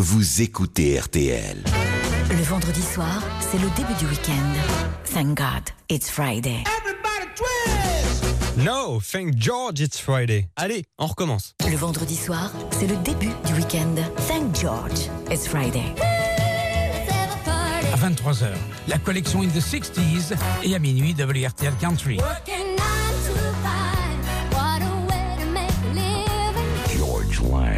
vous écoutez RTL. Le vendredi soir, c'est le début du week-end. Thank God, it's Friday. No, thank George, it's Friday. Allez, on recommence. Le vendredi soir, c'est le début du week-end. Thank George, it's Friday. À 23h, la collection In the 60s et à minuit, WRTL Country. George Lang.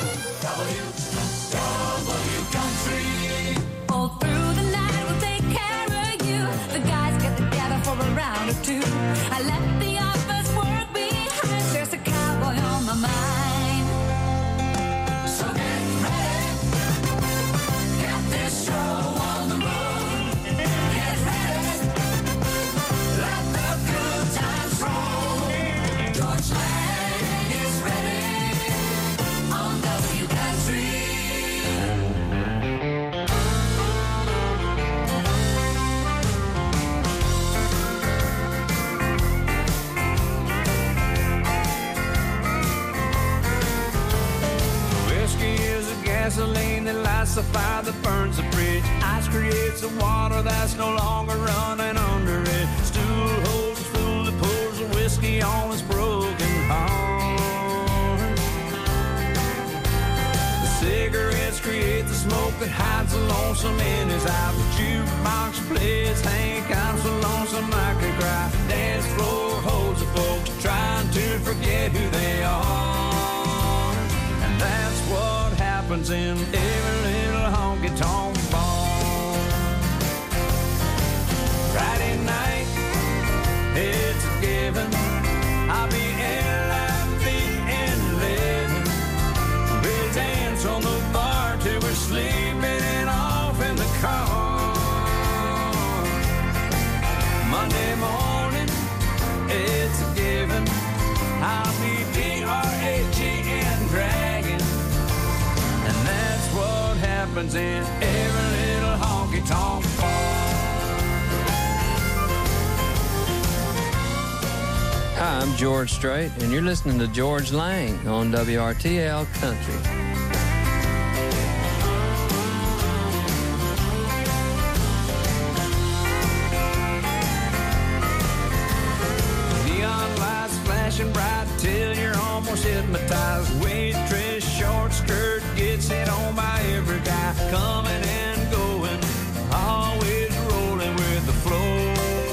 I left the office work behind. There's a cowboy on my mind. So get ready. Get this show on the road. Get ready. Let the good times roll. George Lang is ready on W Country. Gasoline that lights the fire that burns the bridge. Ice creates the water that's no longer running under it. Stool holds the fool that pours the whiskey on his broken heart. The cigarettes create the smoke that hides the lonesome in his eye. The jukebox plays Hank, I'm so lonesome I could cry. Dance floor holds the folks trying to forget who they are. And that's what happens in every little honky-tonk bar. Friday night, it's a given. I'll be LIV and living. We'll dance on the bar till we're sleeping and off in the car. Monday morning, it's a given. I'll be DRAGN dragging. And that's what happens in every little honky-tonk bar. Hi, I'm George Strait, and you're listening to George Lang on WRTL Country. Neon lights flashing bright till you're almost hypnotized. Waitress, short skirt, gets hit on by every guy. Coming and going, always rolling with the flow.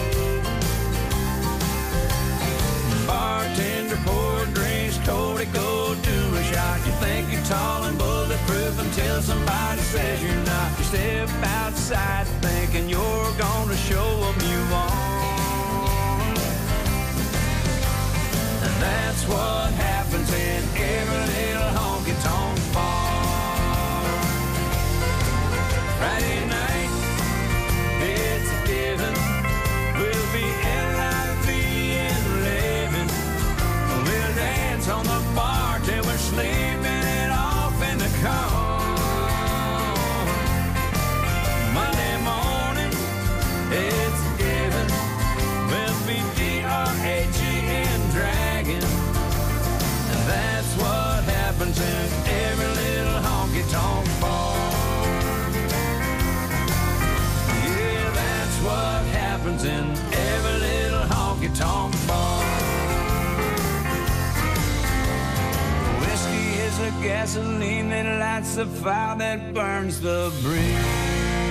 Bartender poured drinks, Cody, go do a shot. You think you're tall and bulletproof until somebody says you're not. You step outside thinking you're gonna show them you are. And that's what happens in every little honky-tonk bar. Friday night, it's a given. We'll be LIV and living. We'll dance on the bar till we're sleeping it off in the car. Monday morning, it's a given. We'll be DRAGN dragging. And that's what happens in every little honky-tonk bar. Yeah, that's what happens in every little honky-tonk bar. Whiskey is the gasoline that lights the fire that burns the bridge.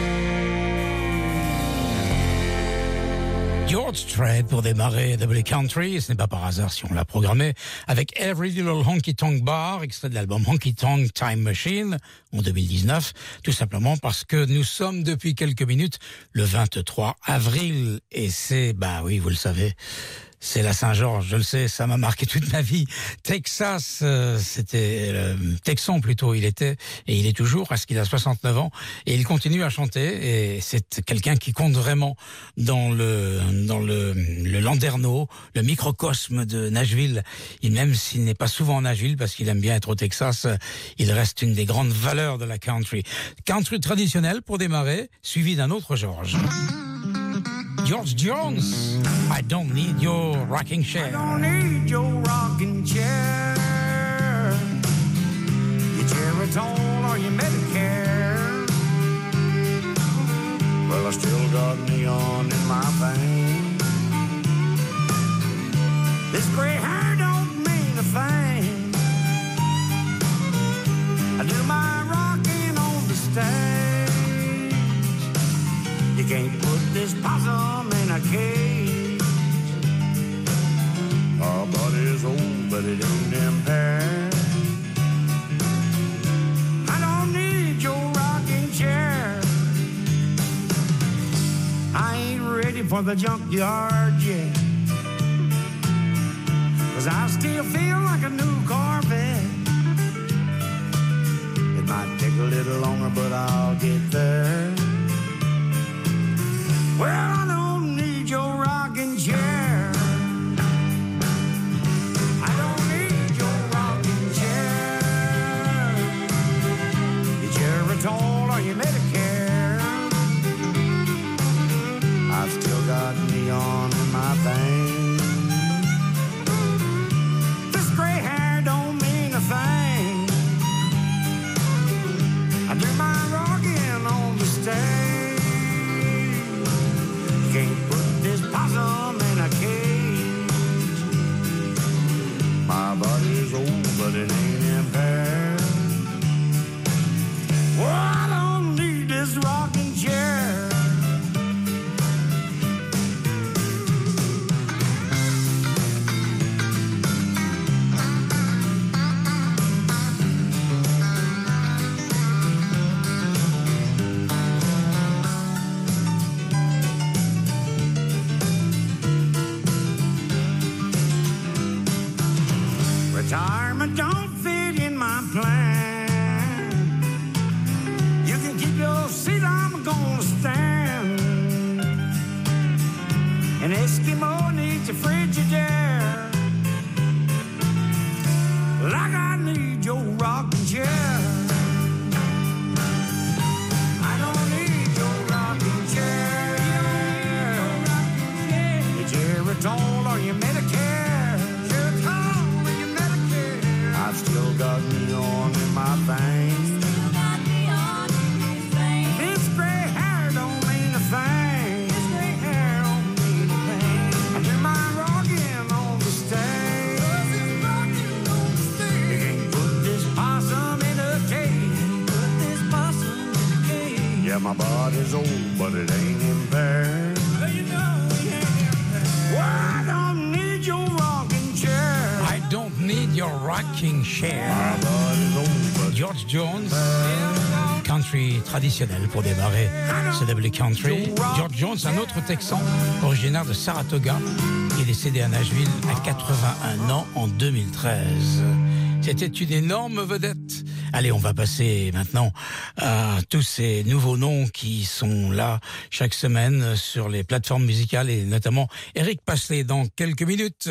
George Strait pour démarrer W Country, ce n'est pas par hasard si on l'a programmé, avec Every Little Honky Tonk Bar, extrait de l'album Honky Tonk Time Machine, en 2019, tout simplement parce que nous sommes depuis quelques minutes le 23 avril, et c'est, bah oui, vous le savez, c'est la Saint-Georges, je le sais, ça m'a marqué toute ma vie. Texas, c'était Texan plutôt, il était, et il est toujours, parce qu'il a 69 ans, et il continue à chanter, et c'est quelqu'un qui compte vraiment dans le landerneau, le microcosme de Nashville. Et même s'il n'est pas souvent en Nashville, parce qu'il aime bien être au Texas, il reste une des grandes valeurs de la country. Country traditionnel pour démarrer, suivi d'un autre George. George Jones, I don't need your rocking chair. I don't need your rocking chair. Your Geritol or your Medicare. Well, I still got neon in my veins. This gray hair don't mean a thing. I do my rocking on the stage. You can't put this possum in a cage. Our body's old, but it ain't impaired. I don't need your rocking chair. I ain't ready for the junkyard yet. 'Cause I still feel like a new Corvette. It might take a little longer, but I'll get there. Well, I don't need your rocking chair. I don't need your rocking chair. Your Geritol or your Medicare. I've still got neon in my veins. This gray hair don't mean a thing. I do my rocking on the stage. You can't put this possum in a cage. My body's old, but it ain't impaired. Well, I don't need this rocking chair. Retirement don't fit in my plan. You can keep your seat, I'm gonna stand. An Eskimo needs a Frigidaire, like I need your rocking chair. I don't need your rocking chair. Your Geritol or your Medicare. I've still got neon in my veins. This gray hair don't mean a thing. This gray hair don't mean a thing. I do my rocking on the stage. You can't put this possum in a cage. Put this possum in a cage. Yeah, my body's old, but it ain't impaired. Well, you know it ain't impaired. Well, I don't need your rocking chair. I don't need your rocking chair. George Jones, country traditionnel pour démarrer CW Country. George Jones, un autre Texan originaire de Saratoga, qui est décédé à Nashville à 81 ans en 2013. C'était une énorme vedette. Allez, on va passer maintenant à tous ces nouveaux noms qui sont là chaque semaine sur les plateformes musicales et notamment Eric Pasley dans quelques minutes.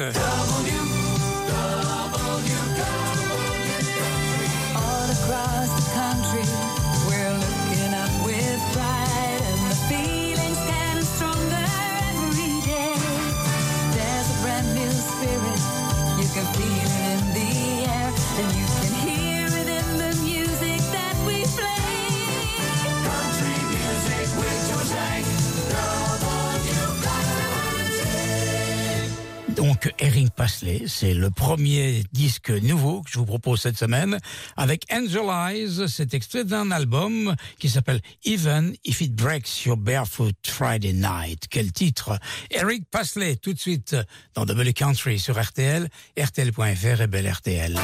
Donc Eric Pasley, c'est le premier disque nouveau que je vous propose cette semaine avec Angel Eyes. C'est extrait d'un album qui s'appelle Even If It Breaks Your Barefoot Friday Night. Quel titre! Eric Pasley, tout de suite dans W Country sur RTL, RTL.fr et Belle RTL.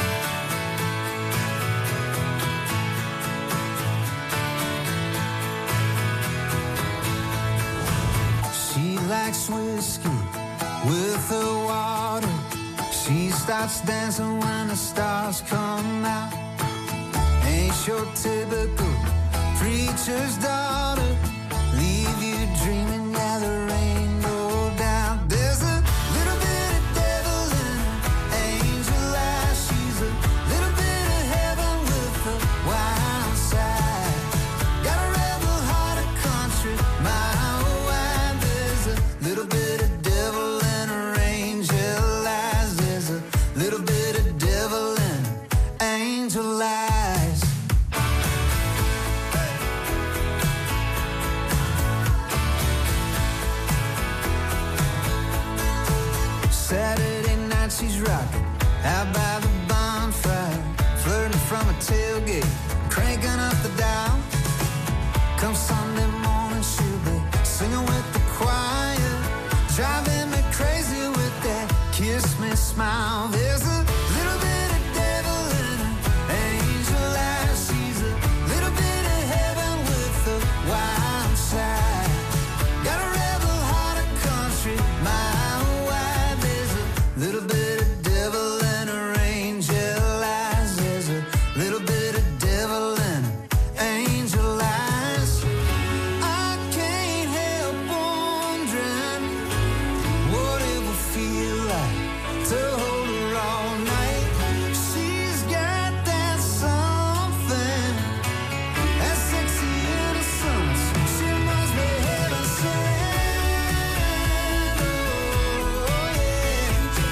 She likes whiskey with the water. She starts dancing when the stars come out. Ain't your typical preacher's daughter. Leave you dreaming, yeah, there ain't no doubt. There's a little bit of devil in her angel eyes. She's a little bit of heaven with a wild side. Got a rebel heart of country, my wife. There's a little bit of devil in her angel eyes. There's a little bit of devil in her angel eyes. she's rocking out by the bonfire, flirting from a tailgate, cranking up the dial. Come Sunday morning, she'll be singing with the choir, driving me crazy with that kiss me smile. There's a little bit of devil in her angel eyes. She's a little bit of heaven with a wild side. Got a rebel heart of country, mile wide. There's a little bit of devil in her angel eyes. There's a little bit of devil in her angel eyes. I can't help wondering what it will feel like to hold her all night. She's got that something, that sexy innocence. She must be heaven sent. Oh, yeah.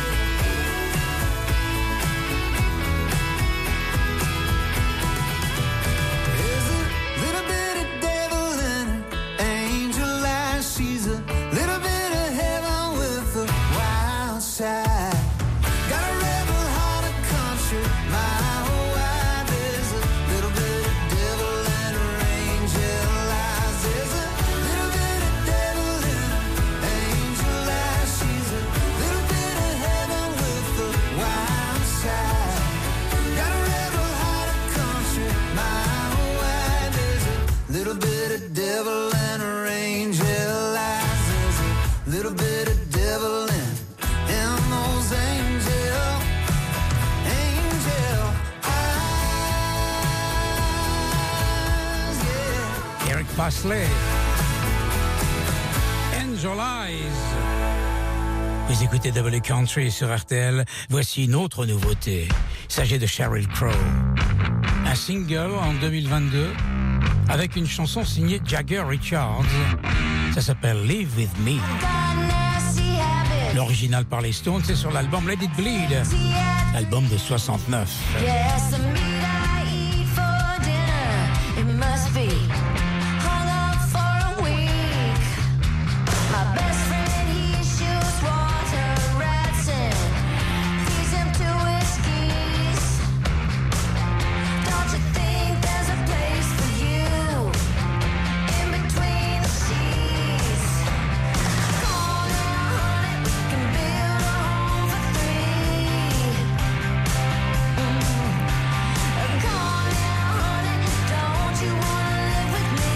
There's a little bit of devil in her angel eyes. She's a little bit of heaven with a wild side. Got a rebel heart of country, mile wide. There's a little bit of devil in her angel eyes. There's a little bit of devil in her angel eyes. She's a little bit of heaven with a wild side. Got a rebel heart of country, mile wide. There's a little bit of devil in her angel eyes. There's a little bit of devil in those angel eyes. Yeah. Eric Pasley. Angel Eyes. Vous écoutez W Country sur RTL. Voici une autre nouveauté. Il s'agit de Sheryl Crow. Un single en 2022 avec une chanson signée Jagger Richards. Ça s'appelle Live With Me. L'original par les Stones, c'est sur l'album Let It Bleed, l'album de 69. Yes, the meat I eat for dinner, it must be hung up for a week. My best friend, he shoots water rats and feeds them to whiskeys. Don't you think there's a place for you in between the sheets? Call now, honey, we can build a home for three. Call now, honey, don't you wanna live with me?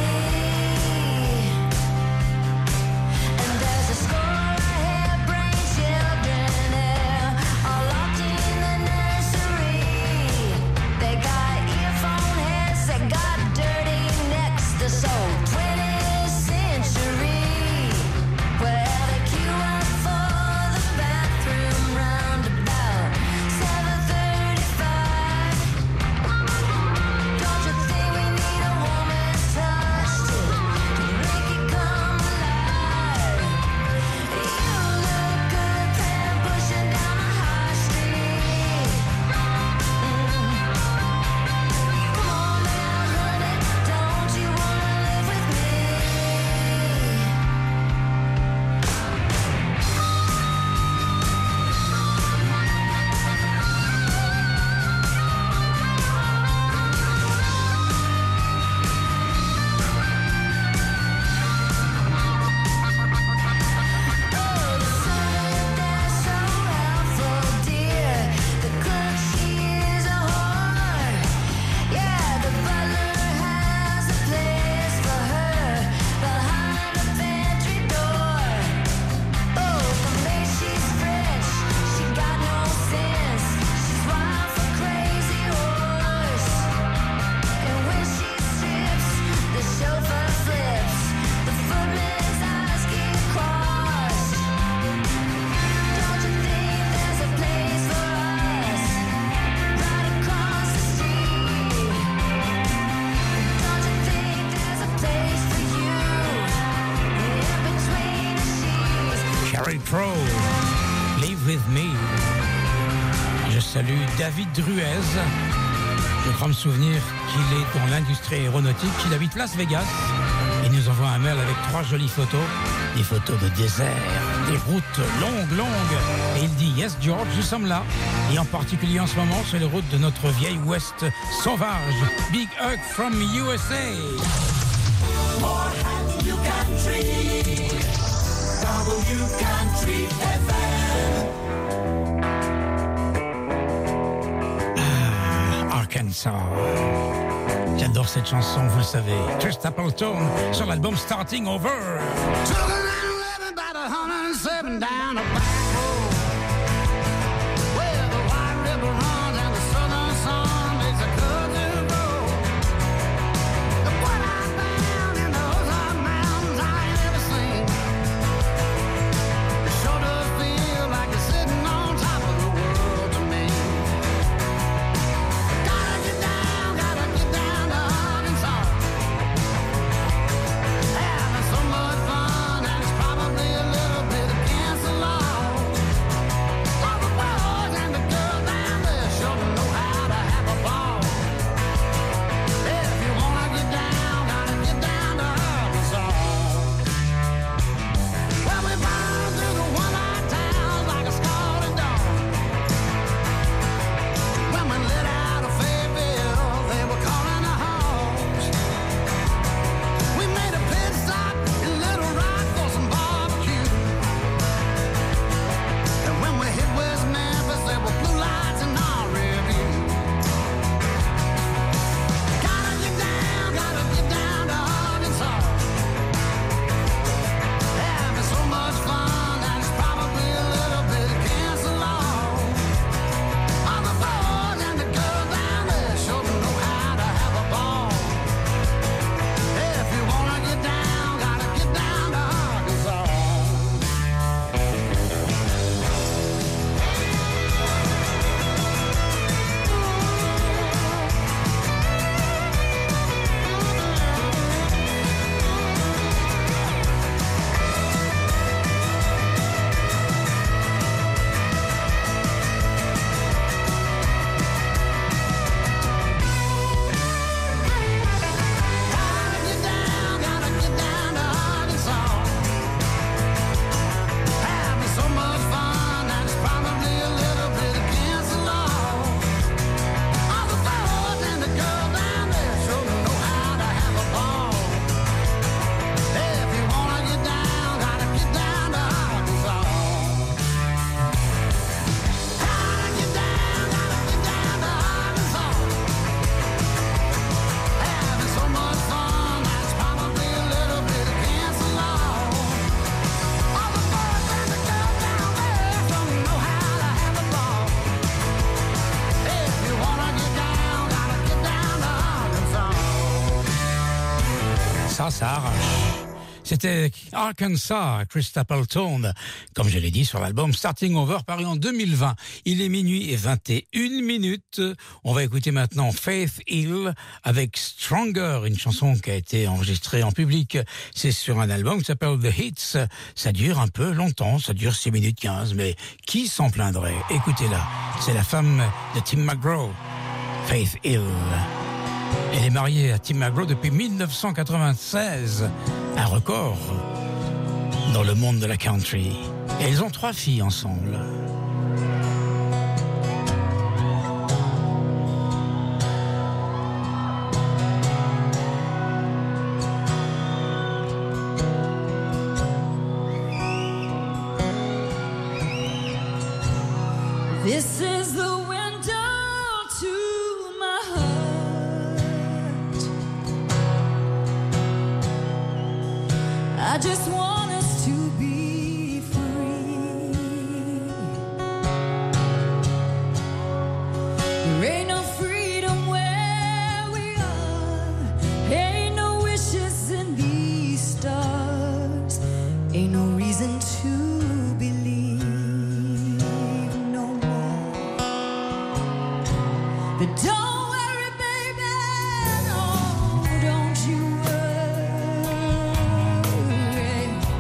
And there's a score of hair-brained children there, all locked in the nursery. They got earphone heads, they got dirty necks, they're so 20th century. Well, they queue up for the bathroom round about 7:35. Don't you think we need a woman's touch to make it come alive? You look good, pen pushing down the high street. Come on now, honey, don't you wanna live with me? Oh, the servant that's so helpful, dear. The cook, she is a whore. Yeah, the butler has a place for her behind the pantry door. Oh, the maid, she's French, she got no sense. She's wild for crazy horse. And when she strips, the chauffeur flips. The footman's eyes get crossed. Don't you think there's a place for us right across the street? Don't you think there's a place for you in between the sheets? Sheryl Crow, Live With Me. Je salue David Druez. Je crois me souvenir qu'il est dans l'industrie aéronautique, qu'il habite Las Vegas. Il nous envoie un mail avec 3 jolies photos. Des photos de désert, des routes longues. Et il dit, yes George, nous sommes là. Et en particulier en ce moment sur les routes de notre vieille Ouest sauvage. Big hug from USA. More New Country, W Country FM. Arkansas. J'adore cette chanson, vous le savez. Chris Stapleton sur l'album Starting Over. Took a 911 about 107 down a back road where the White River runs and the southern sun makes a country road. And what I found in those hot mountains I ain't ever seen. It sure does feel like you're sitting on top of the world to me. Gotta get down to Arkansas. Having so much fun and it's probably a little bit against the law. All the boys and the girls down there sure know how to have a ball. If you wanna get down, gotta get down to Arkansas. Well, we burn through the one-eyed towns like a scalded dog. When we lit out of Fayetteville, they were calling the hogs. We made a pit stop in Little Rock for some barbecue. And when we hit West Memphis, there were blue lights in our rear view. Gotta get down to Arkansas. Having so much fun and it's probably a little bit against the law. All the boys and the girls down there sure know how to have a ball. If you wanna get down, gotta get down to Arkansas. Gotta get down to Arkansas. Having so much fun and it's probably a little bit against the law. All the boys and the girls down there sure know how to have a ball. If you wanna get down, gotta get down to Arkansas. Gotta get down to Arkansas. Having so much fun and it's probably a little bit against the law. All the boys and the girls down there don't know how to have a ball. If you wanna get down, gotta get down to Arkansas. Ça arrache. C'était Arkansas, Chris Stapleton, comme je l'ai dit sur l'album Starting Over, paru en 2020. Il est minuit et 21 minutes. On va écouter maintenant Faith Hill avec Stronger, une chanson qui a été enregistrée en public. C'est sur un album qui s'appelle The Hits. Ça dure un peu longtemps, ça dure 6 minutes 15, mais qui s'en plaindrait? Écoutez-la, c'est la femme de Tim McGraw, Faith Hill. Elle est mariée à Tim McGraw depuis 1996, un record dans le monde de la country. Et ils ont 3 filles ensemble. This is the window to my heart. I just want us to be free. There ain't no freedom where we are. Ain't no wishes in these stars. Ain't no reason to believe no more. But don't worry, baby, no, don't you worry.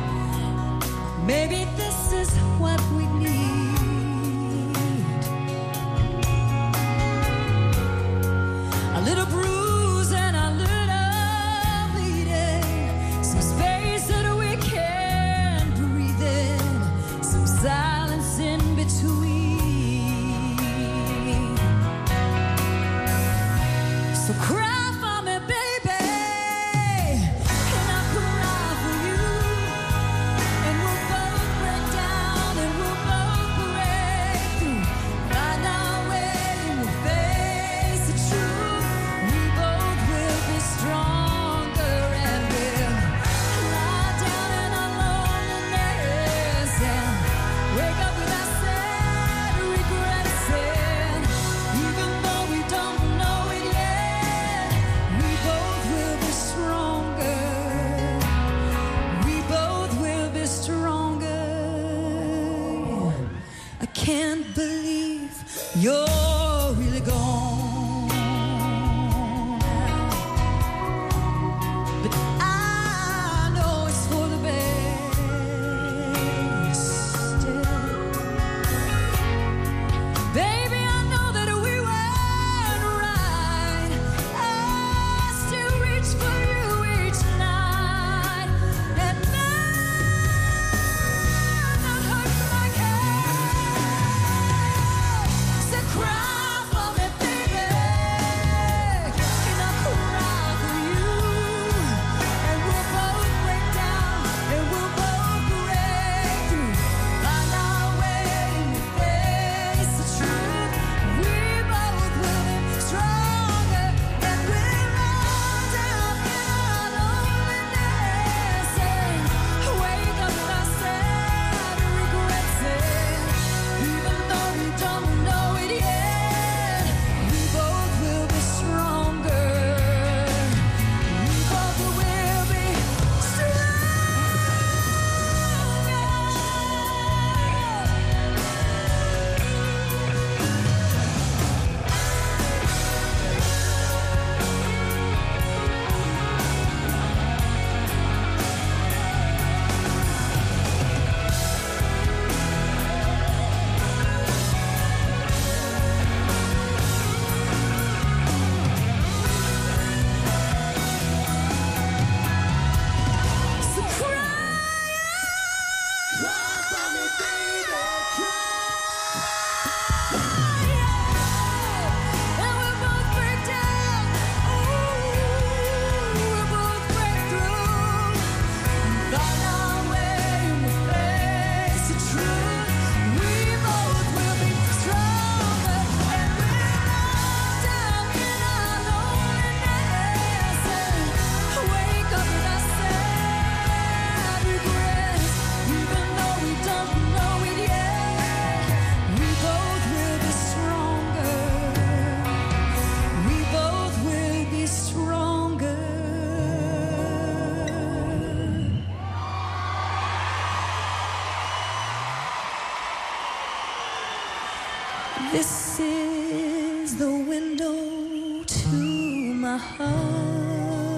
This is the window to my heart.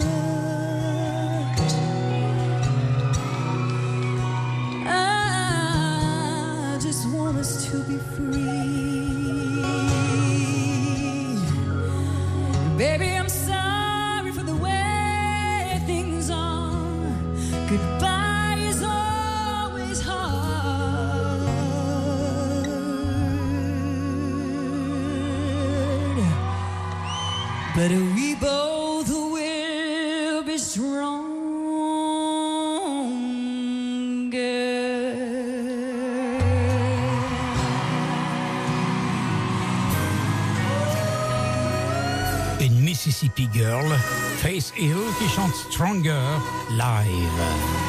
I just want us to be free. Baby, I'm sorry for the way things are. Goodbye is always hard. But we both will be stronger. Une Mississippi Girl, Faith Hill, qui chante Stronger live.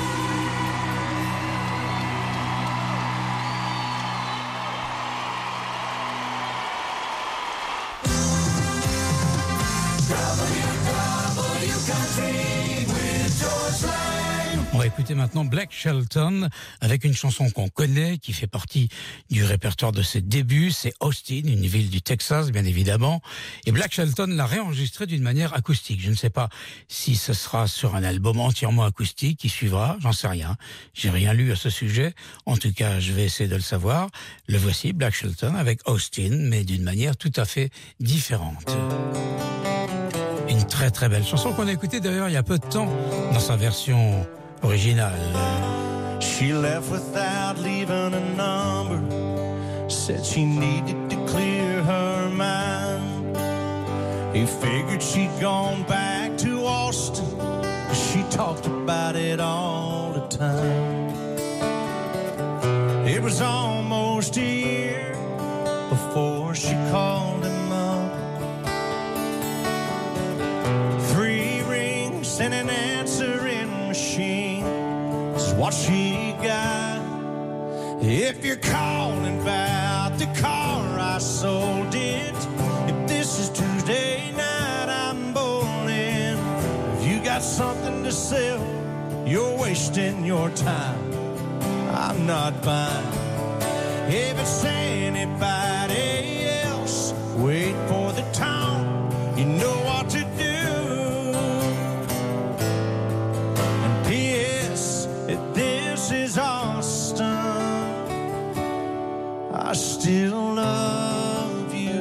On va écouter maintenant Blake Shelton avec une chanson qu'on connaît, qui fait partie du répertoire de ses débuts. C'est Austin, une ville du Texas, bien évidemment. Et Blake Shelton l'a réenregistré d'une manière acoustique. Je ne sais pas si ce sera sur un album entièrement acoustique qui suivra, j'en sais rien. J'ai rien lu à ce sujet. En tout cas, je vais essayer de le savoir. Le voici, Blake Shelton avec Austin, mais d'une manière tout à fait différente. Une très très belle chanson qu'on a écoutée d'ailleurs il y a peu de temps dans sa version originale. She left without leaving a number. Said she needed to clear her mind. He figured she'd gone back to Austin. She talked about it all the time. It was almost a year before she called him up. 3 rings and an answering machine is what she got. If you're calling about the car I sold it, if this is Tuesday night I'm bowling. If you got something to sell, you're wasting your time. I'm not buying. If it's anybody else, wait for the tone. You know what to do. And P.S. This is Austin. I still love you.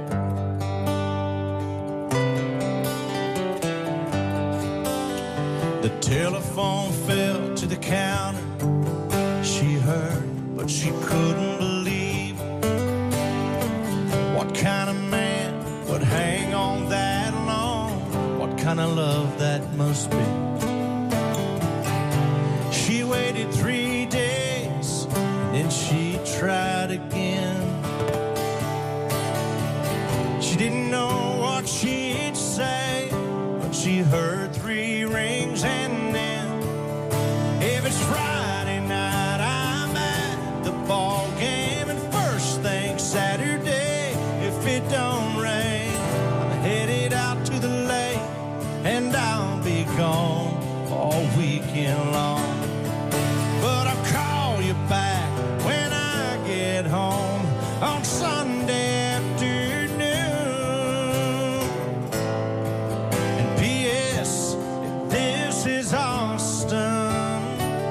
The telephone fell to the counter. She heard, but she couldn't believe. What kind of man would hang on that long? What kind of love that must be? She waited 3 days, and then she tried again. She didn't know what she'd say, but she heard 3 rings and then, if it's Friday night, I'm at the ball game, and first thing Saturday, if it don't rain, I'm headed out to the lake, and I'll be gone all weekend long. But I'll call you back when I get home on Sunday afternoon. And P.S. if this is Austin,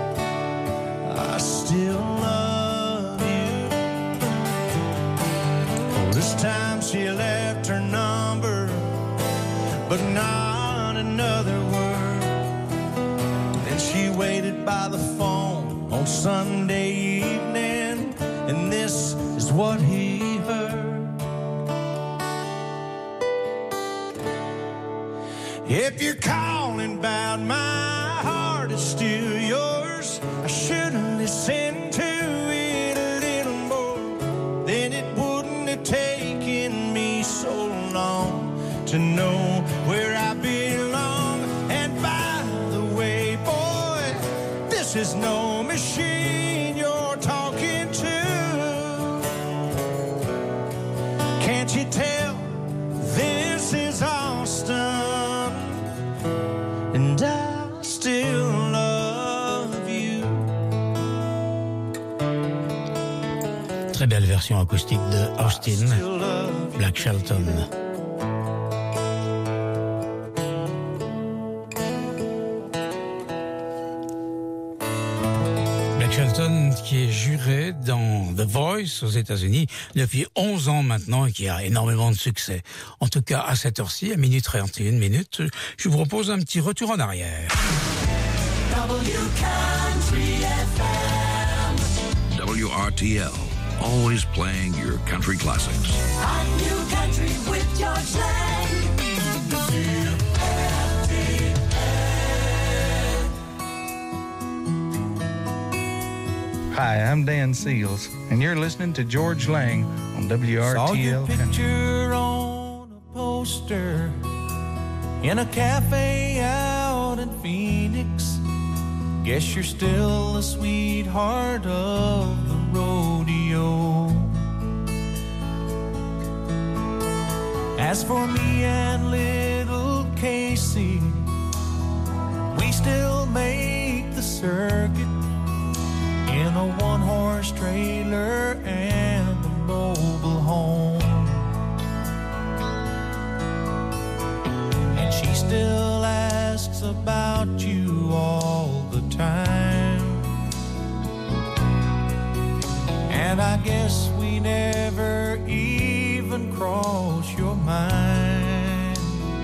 I still love you. Oh, this time she left her number, but not another word. Then she waited by the phone on Sunday evening, and this is what he heard. If you're calling about my heart, it's still yours. I should have listened to it a little more. Then it wouldn't have taken me so long to know where I belong. And by the way, boy, this is no machine you're talking to. Can't you tell this is Austin, and I still love you. Très belle version acoustique de Austin, Black Shelton. Black Shelton qui est juré dans The Voice aux États-Unis depuis 11 ans maintenant et qui a énormément de succès. En tout cas, à cette heure-ci, à minuit 31 minutes, je vous propose un petit retour en arrière. WRTL, always playing your country classics. Hi, I'm Dan Seals, and you're listening to George Lang on Saw your WRTL Country. picture on a poster in a cafe out in Phoenix. Guess you're still the sweetheart of the rodeo. As for me and little Casey, we still make the circuit in a one-horse trailer and a mobile home. And she still asks about you all the time. And I guess we never even cross your mind.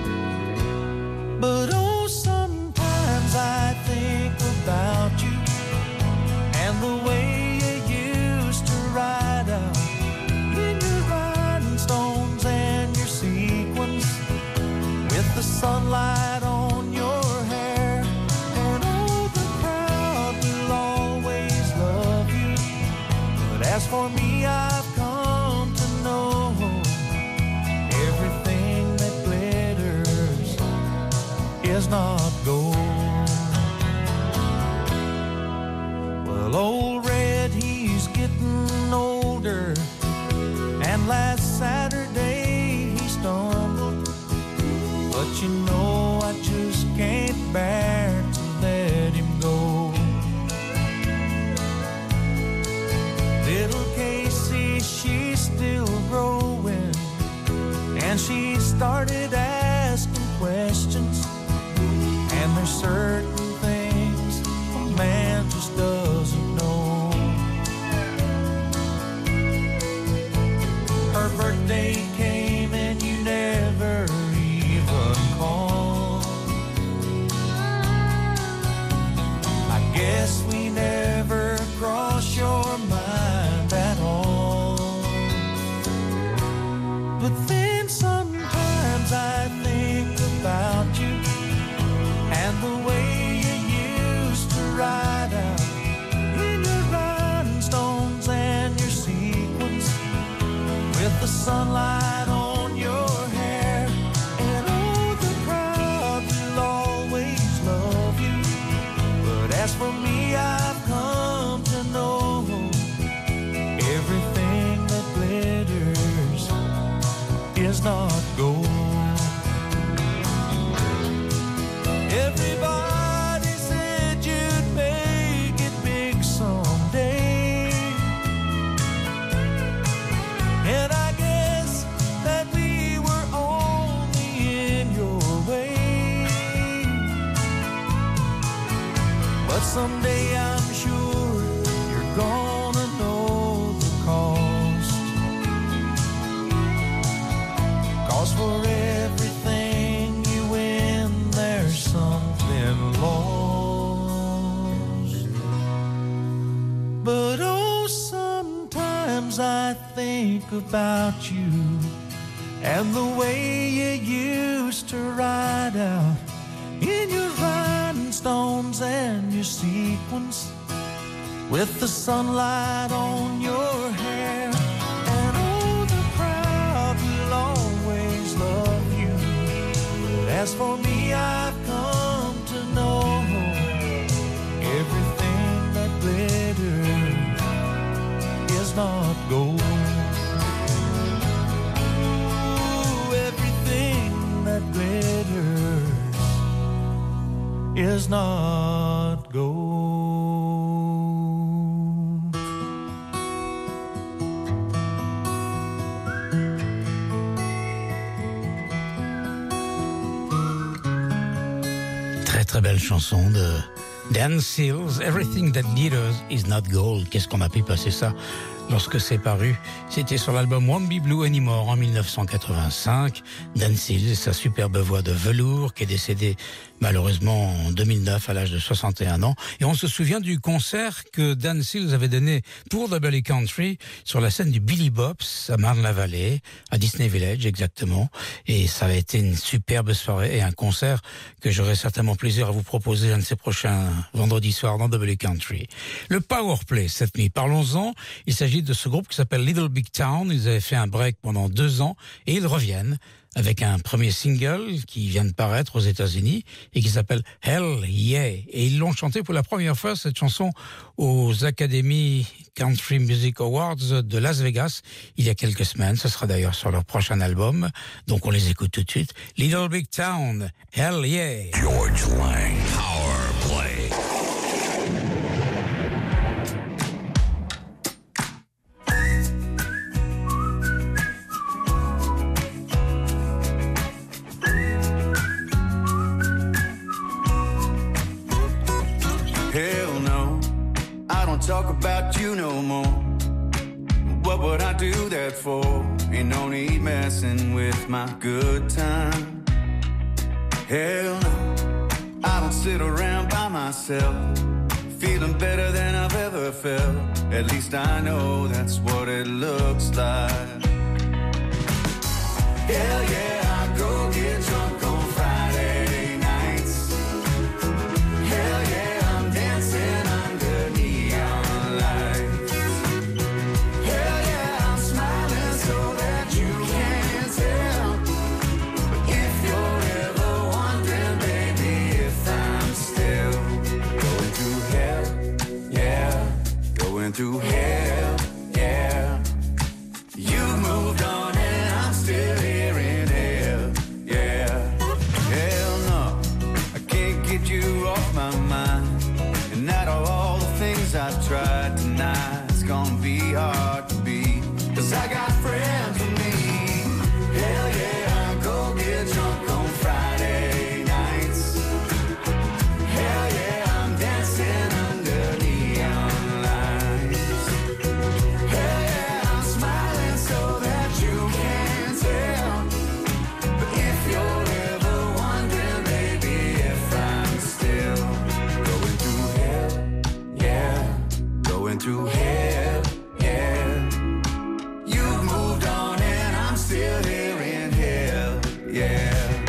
But oh, sometimes I think about you and the way you used to ride out in your rhinestones and your sequins with the sunlight on your hair. And oh, the crowd will always love you. But as for me, I've come to know everything that glitters is not gold. Well, old Red, he's getting older, and last Saturday he stumbled. But you know I just can't bear to let him go. Little Casey, she's still growing, and she started asking questions. And there's certain things a man just doesn't know. Her birthday came and you never even called. I guess we never crossed your mind at all. But then sometimes I think about you and the way you used to ride out in your rhinestones and your sequins with the sunlight on your hair. And oh, the crowd will always love you. But as for me, I've come to know everything that glitters is not gold. Everybody said you'd make it big someday, and I guess that we were only in your way. But someday I'm sure you're gonna know the cost. 'Cause for everything you win, there's something lost. But oh, sometimes I think about you and the way you used to ride out in your rhinestones and your sequins with the sunlight on your hair. And oh, the crowd will always love you. But as for me, I've come to know everything that glitters is not gold. Ooh, everything that glitters is not gold. belle chanson de Dan Seals, Everything That Glitters Is Not Gold. Qu'est-ce qu'on a pu passer ça lorsque c'est paru? C'était sur l'album Won't Be Blue Anymore en 1985. Dan Seals et sa superbe voix de velours qui est décédé malheureusement en 2009 à l'âge de 61 ans. Et on se souvient du concert que Dan Seals avait donné pour Double Country sur la scène du Billy Bob's à Marne-la-Vallée, à Disney Village exactement. Et ça avait été une superbe soirée et un concert que j'aurai certainement plaisir à vous proposer un de ces prochains vendredis soirs dans Double Country. Le Powerplay cette nuit, parlons-en. Il s'agit de ce groupe qui s'appelle Little Big Town. Ils avaient fait un break pendant 2 ans et ils reviennent avec un premier single qui vient de paraître aux États-Unis et qui s'appelle Hell Yeah. Et ils l'ont chanté pour la première fois, cette chanson, aux Academy Country Music Awards de Las Vegas il y a quelques semaines. Ce sera d'ailleurs sur leur prochain album. Donc on les écoute tout de suite. Little Big Town, Hell Yeah. George Lang, Power Play. Hell no, I don't talk about you no more. What would I do that for? Ain't no need messing with my good time. Hell no, I don't sit around by myself, feeling better than I've ever felt. At least I know that's what it looks like. Hell yeah, I go get drunk on Friday nights. Hell yeah, I'm dancing under neon lights. Hell yeah, I'm smiling so that you can't tell. But if you're ever wondering, baby, if I'm still going through hell, yeah, going through hell, yeah. You moved on and I'm still here in hell, yeah. Hell no, I can't get you off my mind. And out of all the things I've tried tonight, it's gonna be hard to beat. 'Cause I got friends with me. Hell yeah, I go get drunk on Friday nights. Hell yeah, I'm dancing under neon lights. Hell yeah, I'm smiling so that you can't tell. But if you're ever wondering, baby, if I'm still going through hell, yeah, going through hell, yeah. You've moved on and I'm still here in hell, yeah.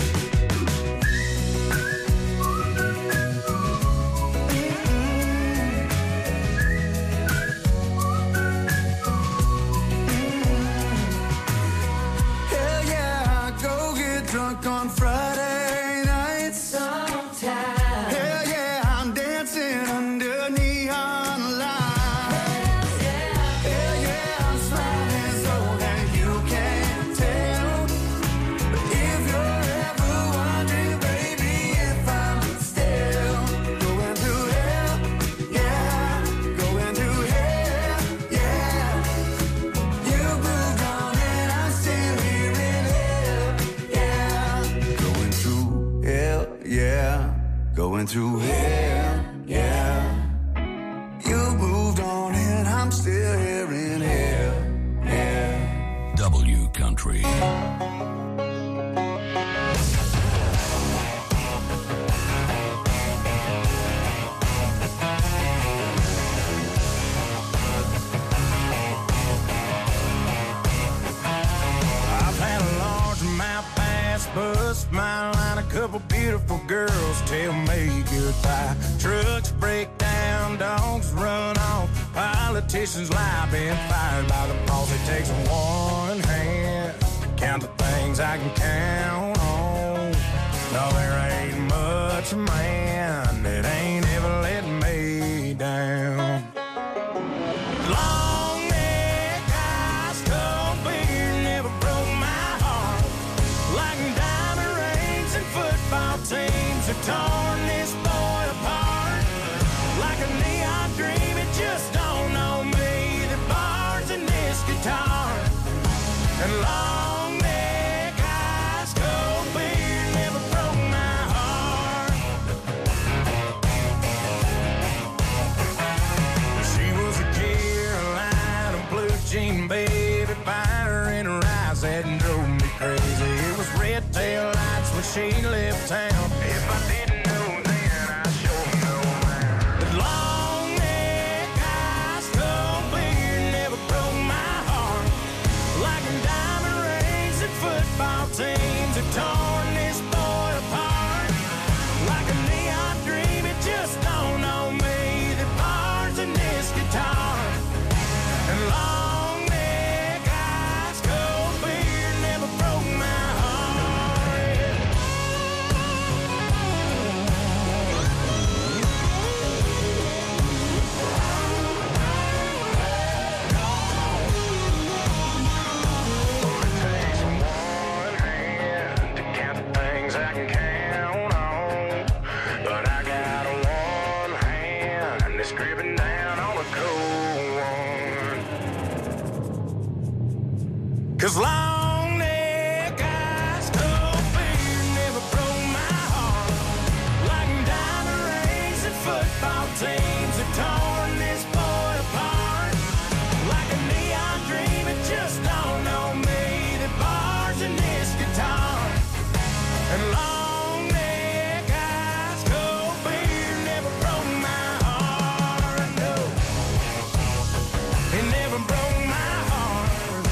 Hell yeah, I go get drunk on Friday nights. Hell yeah, I'm dancing under neon lights. Hell yeah, I'm smiling so that you can't tell. But if you're ever wondering, baby, if I'm still going through hell, yeah, going through hell, yeah. You moved on and I'm still here in hell, yeah. Going through hell, yeah. Going through hell, yeah. You moved on and I'm still here in hell, yeah. W Country. I've had a large amount pass, bust my line, a couple beautiful girls tell me goodbye. Trucks break down, dogs run off, politicians lie, been fired by the boss. It takes one hand to count the things I can count on. No, there ain't much man that ain't ever let me down. Long neck, ice cold beer never broke my heart. Like diamond rings and football teams have torn this boy apart. Like a neon dream, it just don't know me. The bars in this guitar. And long neck, ice cold beer never broke my heart. she left town. If I didn't know then, I sure know now. But long neck, eyes, cold beard never broke my heart. Like a diamond rings and football teams have torn this boy apart. Like a neon dream, it just dawned on me that bars in this guitar. And long neck, eyes, cold beard never broke my heart. It takes one hand to count the things I can count on, but I got one hand that's gripping down on a cold one. 'Cause long neck, eyes, cold beard never broke my heart. Like diamond rings and football teams have torn this boy apart. Like a neon dream, it just dawned on me that bars in this guitar. And long neck, eyes, cold beard never broke my heart. No, it never broke my heart.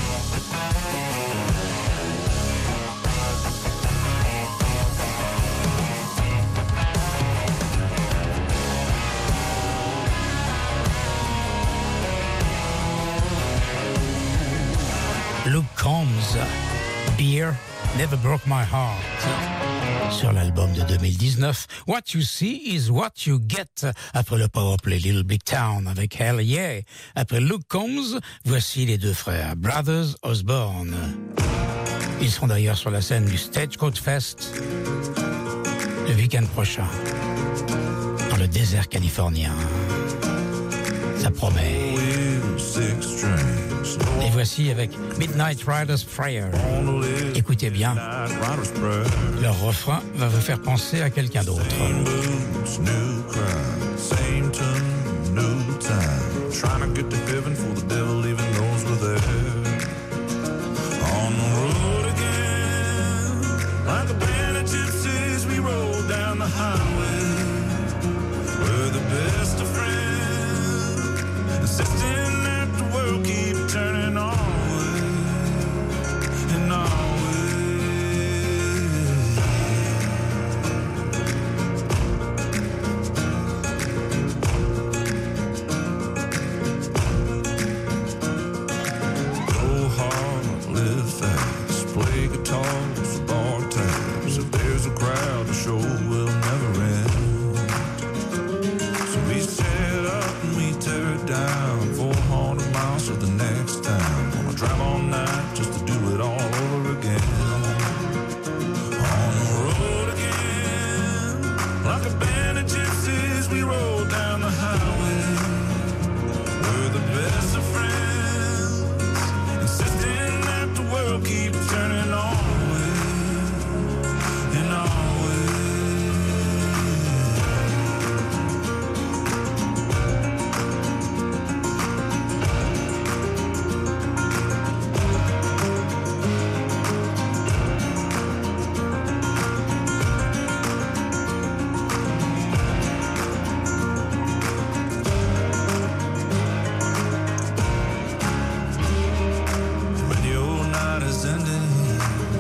Luke Combs, Beer Never Broke My Heart. Sur l'album de 2019, What You See Is What You Get. Après le powerplay Little Big Town avec Hell Yeah. Après Luke Combs, voici les deux frères, Brothers Osborne. Ils seront d'ailleurs sur la scène du Stagecoach Fest le week-end prochain, dans le désert californien. Ça promet. Et voici avec Midnight Rider's Prayer. Écoutez bien, leur refrain va vous faire penser à quelqu'un d'autre. Same boots, new crowd, same tune, new time. Trying to get to heaven for the devil even knows we're there. On the road again, like a band of gypsies, we roll down the highway. We're the best of friends, insisting that the world keep turning our way, and our way. Go hard, live fast, play guitars, bar tabs. If there's a crowd, the show will never end. So we set up and we tear it down, 400 miles to the next town. Wanna drive all night just to do it all over again. On the road again, like a band of gypsies, we roll down the highway. We're the best of friends, insisting that the world keeps turning our way, in our way. When the old night is ending,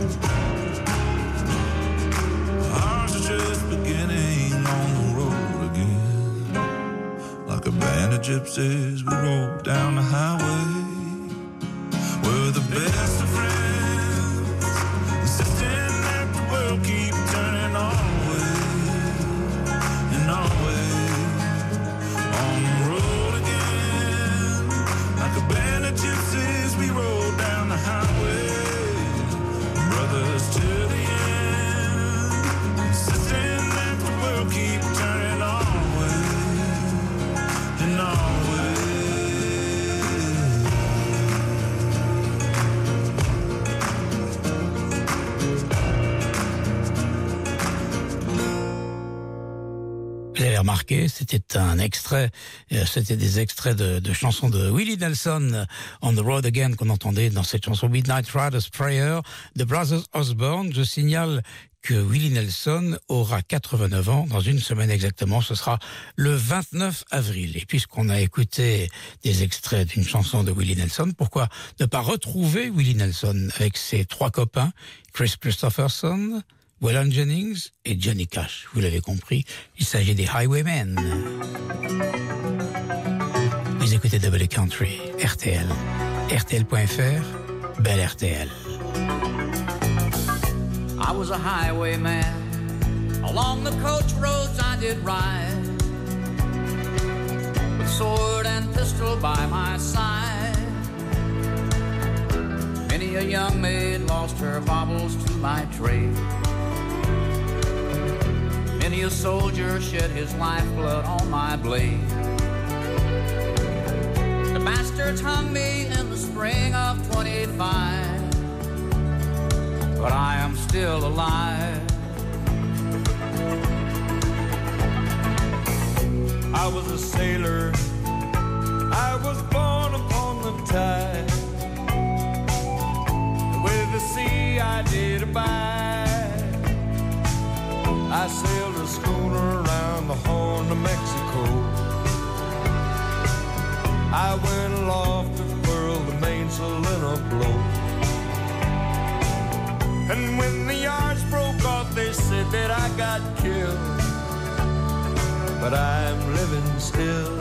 ours is just beginning on the road again. Like a band of gypsies, we roll down the highway. We're the best of friends, insisting that the world keep turning our way, in our way. On the road again, like a band of gypsies, we roll down the highway. Brothers to the end, insisting that the world keep turning our way, in our way. Vous avez remarqué, c'était un extrait, c'était des extraits de chansons de Willie Nelson, On the Road Again, qu'on entendait dans cette chanson Midnight Rider's Prayer de Brothers Osborne. Je signale que Willie Nelson aura 89 ans dans une semaine exactement. Ce sera le 29 avril. Et puisqu'on a écouté des extraits d'une chanson de Willie Nelson, pourquoi ne pas retrouver Willie Nelson avec ses 3 copains, Chris Christopherson, Waylon Jennings et Johnny Cash. Vous l'avez compris, il s'agit des Highwaymen. Vous écoutez Double Country, RTL, RTL.fr, belle RTL. I was a highwayman. Along the coach roads I did ride, with sword and pistol by my side. Many a young maid lost her baubles to my trade. Many a soldier shed his lifeblood on my blade. The bastards hung me in the spring of 25, but I am still alive. I was a sailor, I was born upon the tide. With the sea I did abide. I sailed a schooner around the Horn of Mexico. I went aloft to furl the mainsail in a blow. And when the yards broke off, they said that I got killed. But I'm living still.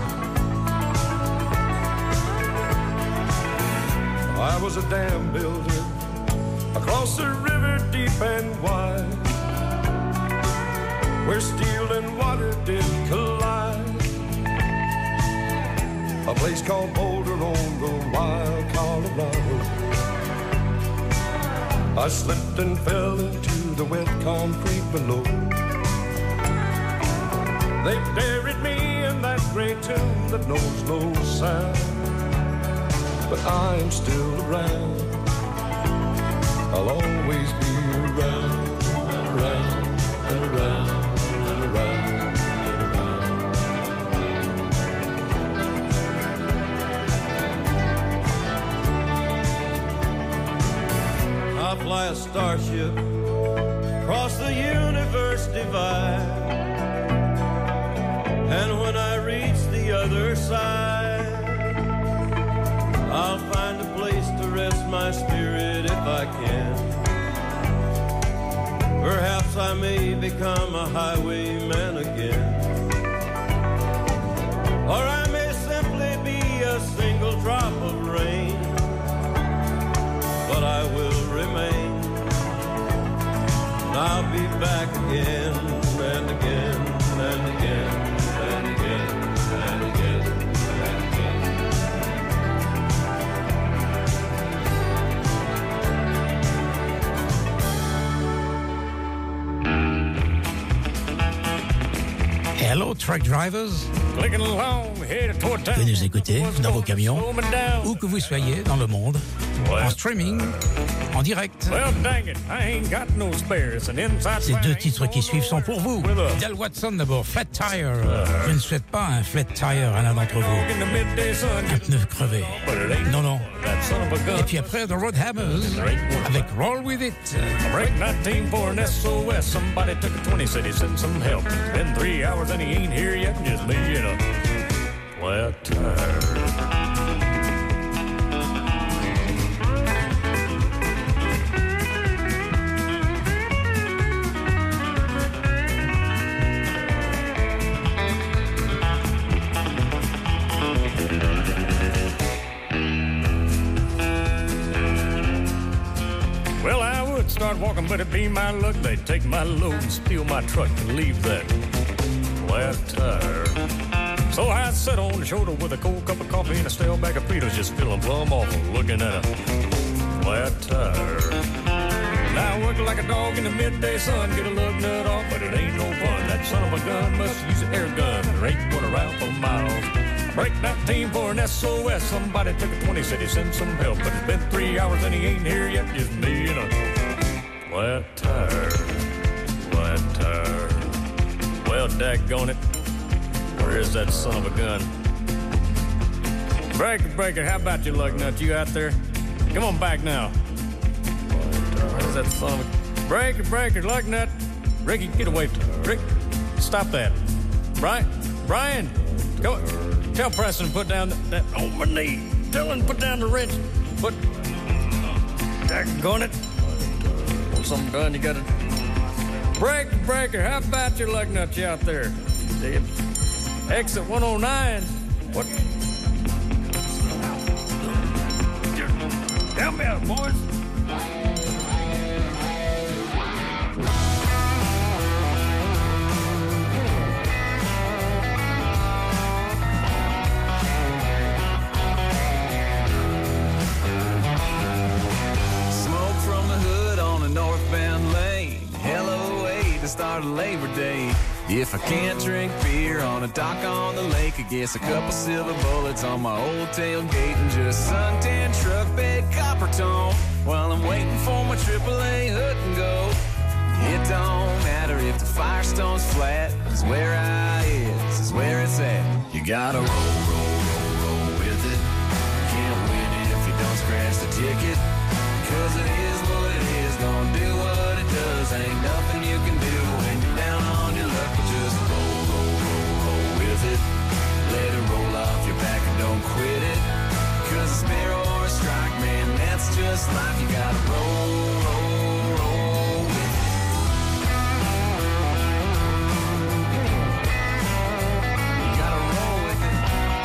I was a dam builder across a river deep and wide, where steel and water did collide. A place called Boulder on the wild Colorado. I slipped and fell into the wet concrete below. They buried me in that great tomb that knows no sound. But I'm still around. I'll always be around and around and around and around and around. I fly a starship across the universe divide. And when I reach the other side, I'll find a place to rest my spirit if I can. Perhaps I may become a highwayman again. Or I may simply be a single drop of rain. But I will remain. And I'll be back again and again and again. Hello, truck drivers. Clicking along, headed toward town. Vous nous écoutez dans vos camions, où que vous soyez dans le monde, en streaming, en direct. Well, dang it, I ain't got no spares. And inside Ces 2 titres qui suivent sont pour vous. Del Watson d'abord, Flat Tire. Je ne souhaite pas un flat tire à l'un d'entre vous. Un pneu crevé. Non, non. Et puis après, The Roadhammers avec Roll With It. Break 19 for an SOS. Somebody took a 20, said he sent some help. It's been 3 hours and he ain't here yet. Just me in a flat tire. Start walking, but it be my luck. They'd take my load and steal my truck and leave that flat tire. So I sat on the shoulder with a cold cup of coffee and a stale bag of Fritos, just feeling plumb awful, looking at a flat tire. Now I work like a dog in the midday sun, get a lug nut off, but it ain't no fun. That son of a gun must use an air gun. There ain't one around for miles. Break 19 for an SOS. Somebody took a 20, said he sent some help, but it's been 3 hours and he ain't here yet. Just me and a flat tire, flat tire. Well, daggone it, where is that son of a gun? Breaker, how about you, lug nut? You out there? Come on back now. Where's that son of a... Breaker, breaker, lug nut. Ricky, get away. Rick, stop that. Brian, go. Tell Preston to put down that on my knee. Tell him to put down the wrench. Put. Daggone it. Want something done, you gotta. Breaker, how about your lug nuts out there? Exit 109. What? Help me out, boys. Smoke from the hood on a northbound lane. Hello, way to start a Labor Day. If I can't drink beer on a dock on the lake, I guess a couple silver bullets on my old tailgate and just suntan truck bed copper tone while I'm waiting for my AAA hood and go. It don't matter if the Firestone's flat, 'cause where I is where it's at. You gotta roll with it. Can't win it if you don't scratch the ticket. 'Cause it is what it is, gonna do what it does. Ain't nothing you can do when you're down on your luck. Just roll with it. Let it roll off your back and don't quit it. 'Cause a sparrow or a strike, man, that's just life. You gotta roll with it. You gotta roll with it.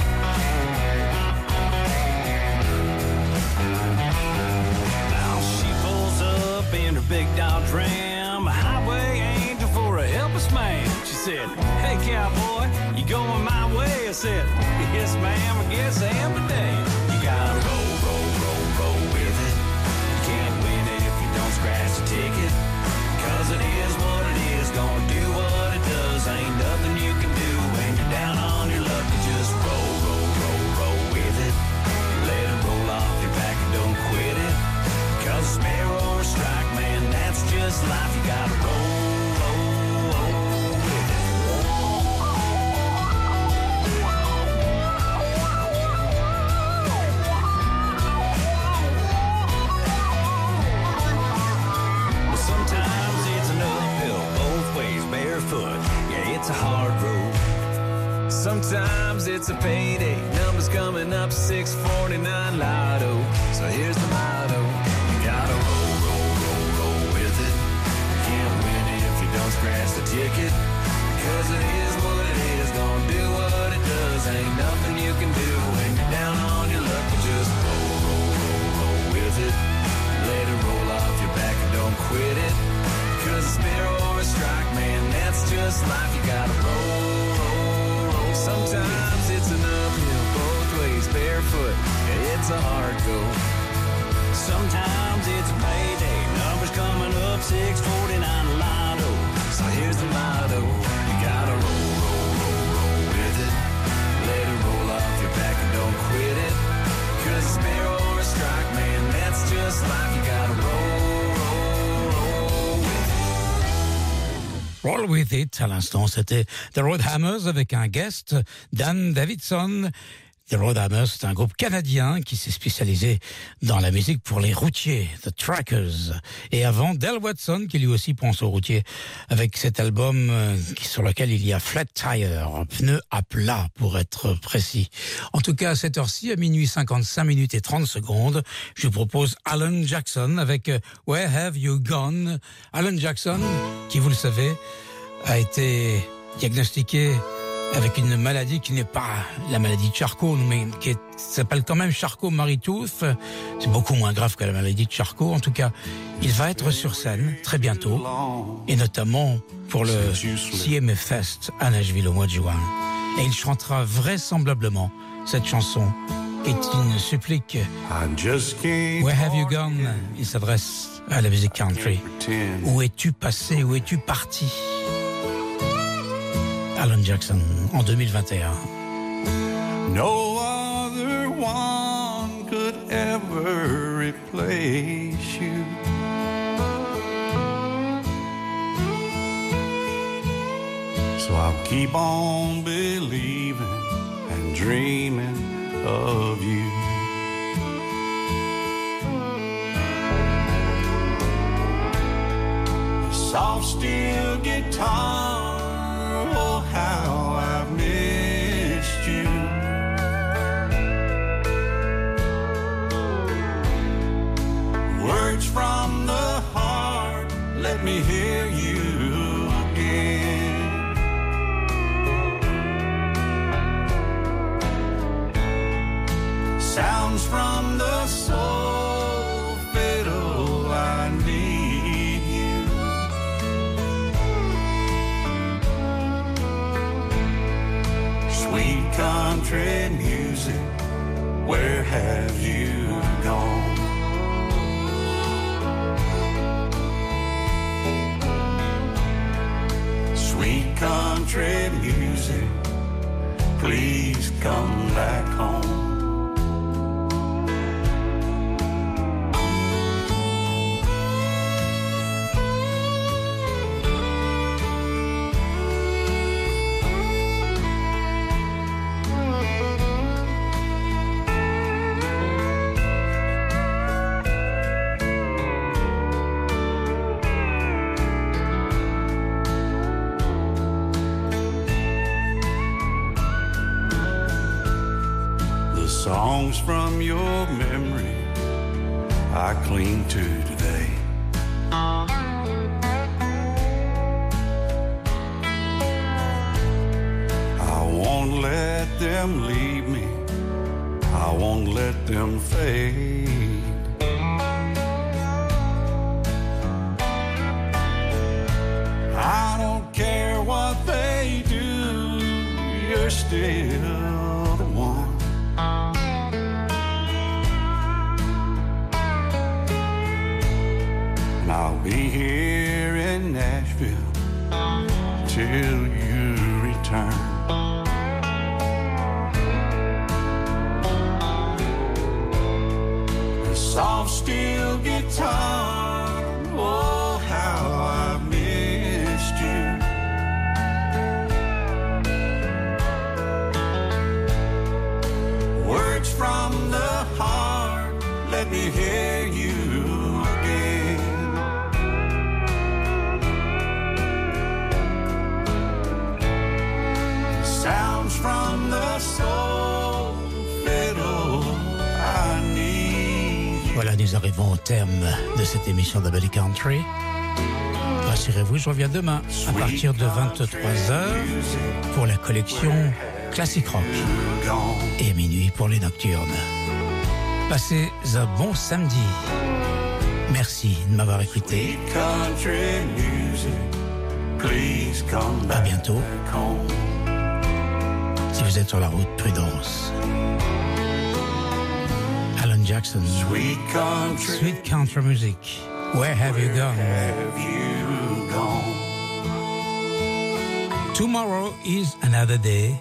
Now she pulls up in her big Dodge Ram, a highway angel for a helpless man. She said, "Hey cowboy, you going my way?" I said, "Yes ma'am, I guess I am today." You gotta roll with it. You can't win it if you don't scratch the ticket. 'Cause it is what it is, gonna do what it does. Ain't nothing you can do when you're down on your luck. You just roll with it. Let it roll off your back and don't quit it. 'Cause a sparrow or a strike, man, that's just life. You gotta roll with it. Well, sometimes it's an uphill, both ways, barefoot. Yeah, it's a hard road. Sometimes it's a payday. Numbers coming up 649 lotto. So here's the motto. You gotta roll with it. You can't win it if you don't scratch the ticket. 'Cause it is what it is, gonna do what it does. Ain't nothing you can do when you're down on your luck. You just roll with it. Let it roll off your back and don't quit it. 'Cause a sparrow or a strike, man, that's just life. You gotta roll. Sometimes it's an uphill, both ways, barefoot. Yeah, it's a hard go. Sometimes it's a payday, numbers coming up 649 lotto. So here's the motto. You gotta roll with it. Let it roll off your back and don't quit it. 'Cause a sparrow or a strike, man, that's just life. You gotta roll with it. Roll With It, à l'instant, c'était The Roadhammers avec un guest, Dan Davidson. The Roadhammers, c'est un groupe canadien qui s'est spécialisé dans la musique pour les routiers, The Trackers. Et avant, Del Watson, qui lui aussi pense aux routiers, avec cet album sur lequel il y a Flat Tire, un pneu à plat pour être précis. En tout cas, à cette heure-ci, à minuit 55 minutes et 30 secondes, je vous propose Alan Jackson avec Where Have You Gone? Alan Jackson, qui, vous le savez, a été diagnostiqué avec une maladie qui n'est pas la maladie de Charcot, mais qui s'appelle quand même Charcot-Marie-Tooth. C'est beaucoup moins grave que la maladie de Charcot. En tout cas, il va être sur scène très bientôt, et notamment pour le CMA Fest à Nashville au mois de juin. Et il chantera vraisemblablement cette chanson, qui est une supplique. Where have you gone? Il s'adresse à la musique country. Où es-tu passé? Où es-tu parti? Alan Jackson, en 2021. No other one could ever replace you. So I'll keep on believing and dreaming of you. soft steel guitar. Oh, how I've missed you. Words from the heart, let me hear you again. Sounds from the soul, fiddle, I need you. Sweet country music, where have you gone? Sweet country music, please come back home. Songs from your memory I cling to today. I won't let them leave me, I won't let them fade. I don't care what they do, you're still the one. I'll be here in Nashville till you return. The soft steel guitar, oh how I've missed you. Words from the heart, let me hear you again. Sounds from the soul, fiddle, I need you. Voilà, nous arrivons au terme de cette émission de Belly Country. Rassurez-vous, je reviens demain à partir de 23h pour la collection Classic Rock et minuit pour les nocturnes. Passez un bon samedi. Merci de m'avoir écouté. À bientôt. Si vous êtes sur la route, prudence. Alan Jackson, Sweet Country Music, Where Have You Gone? Tomorrow is another day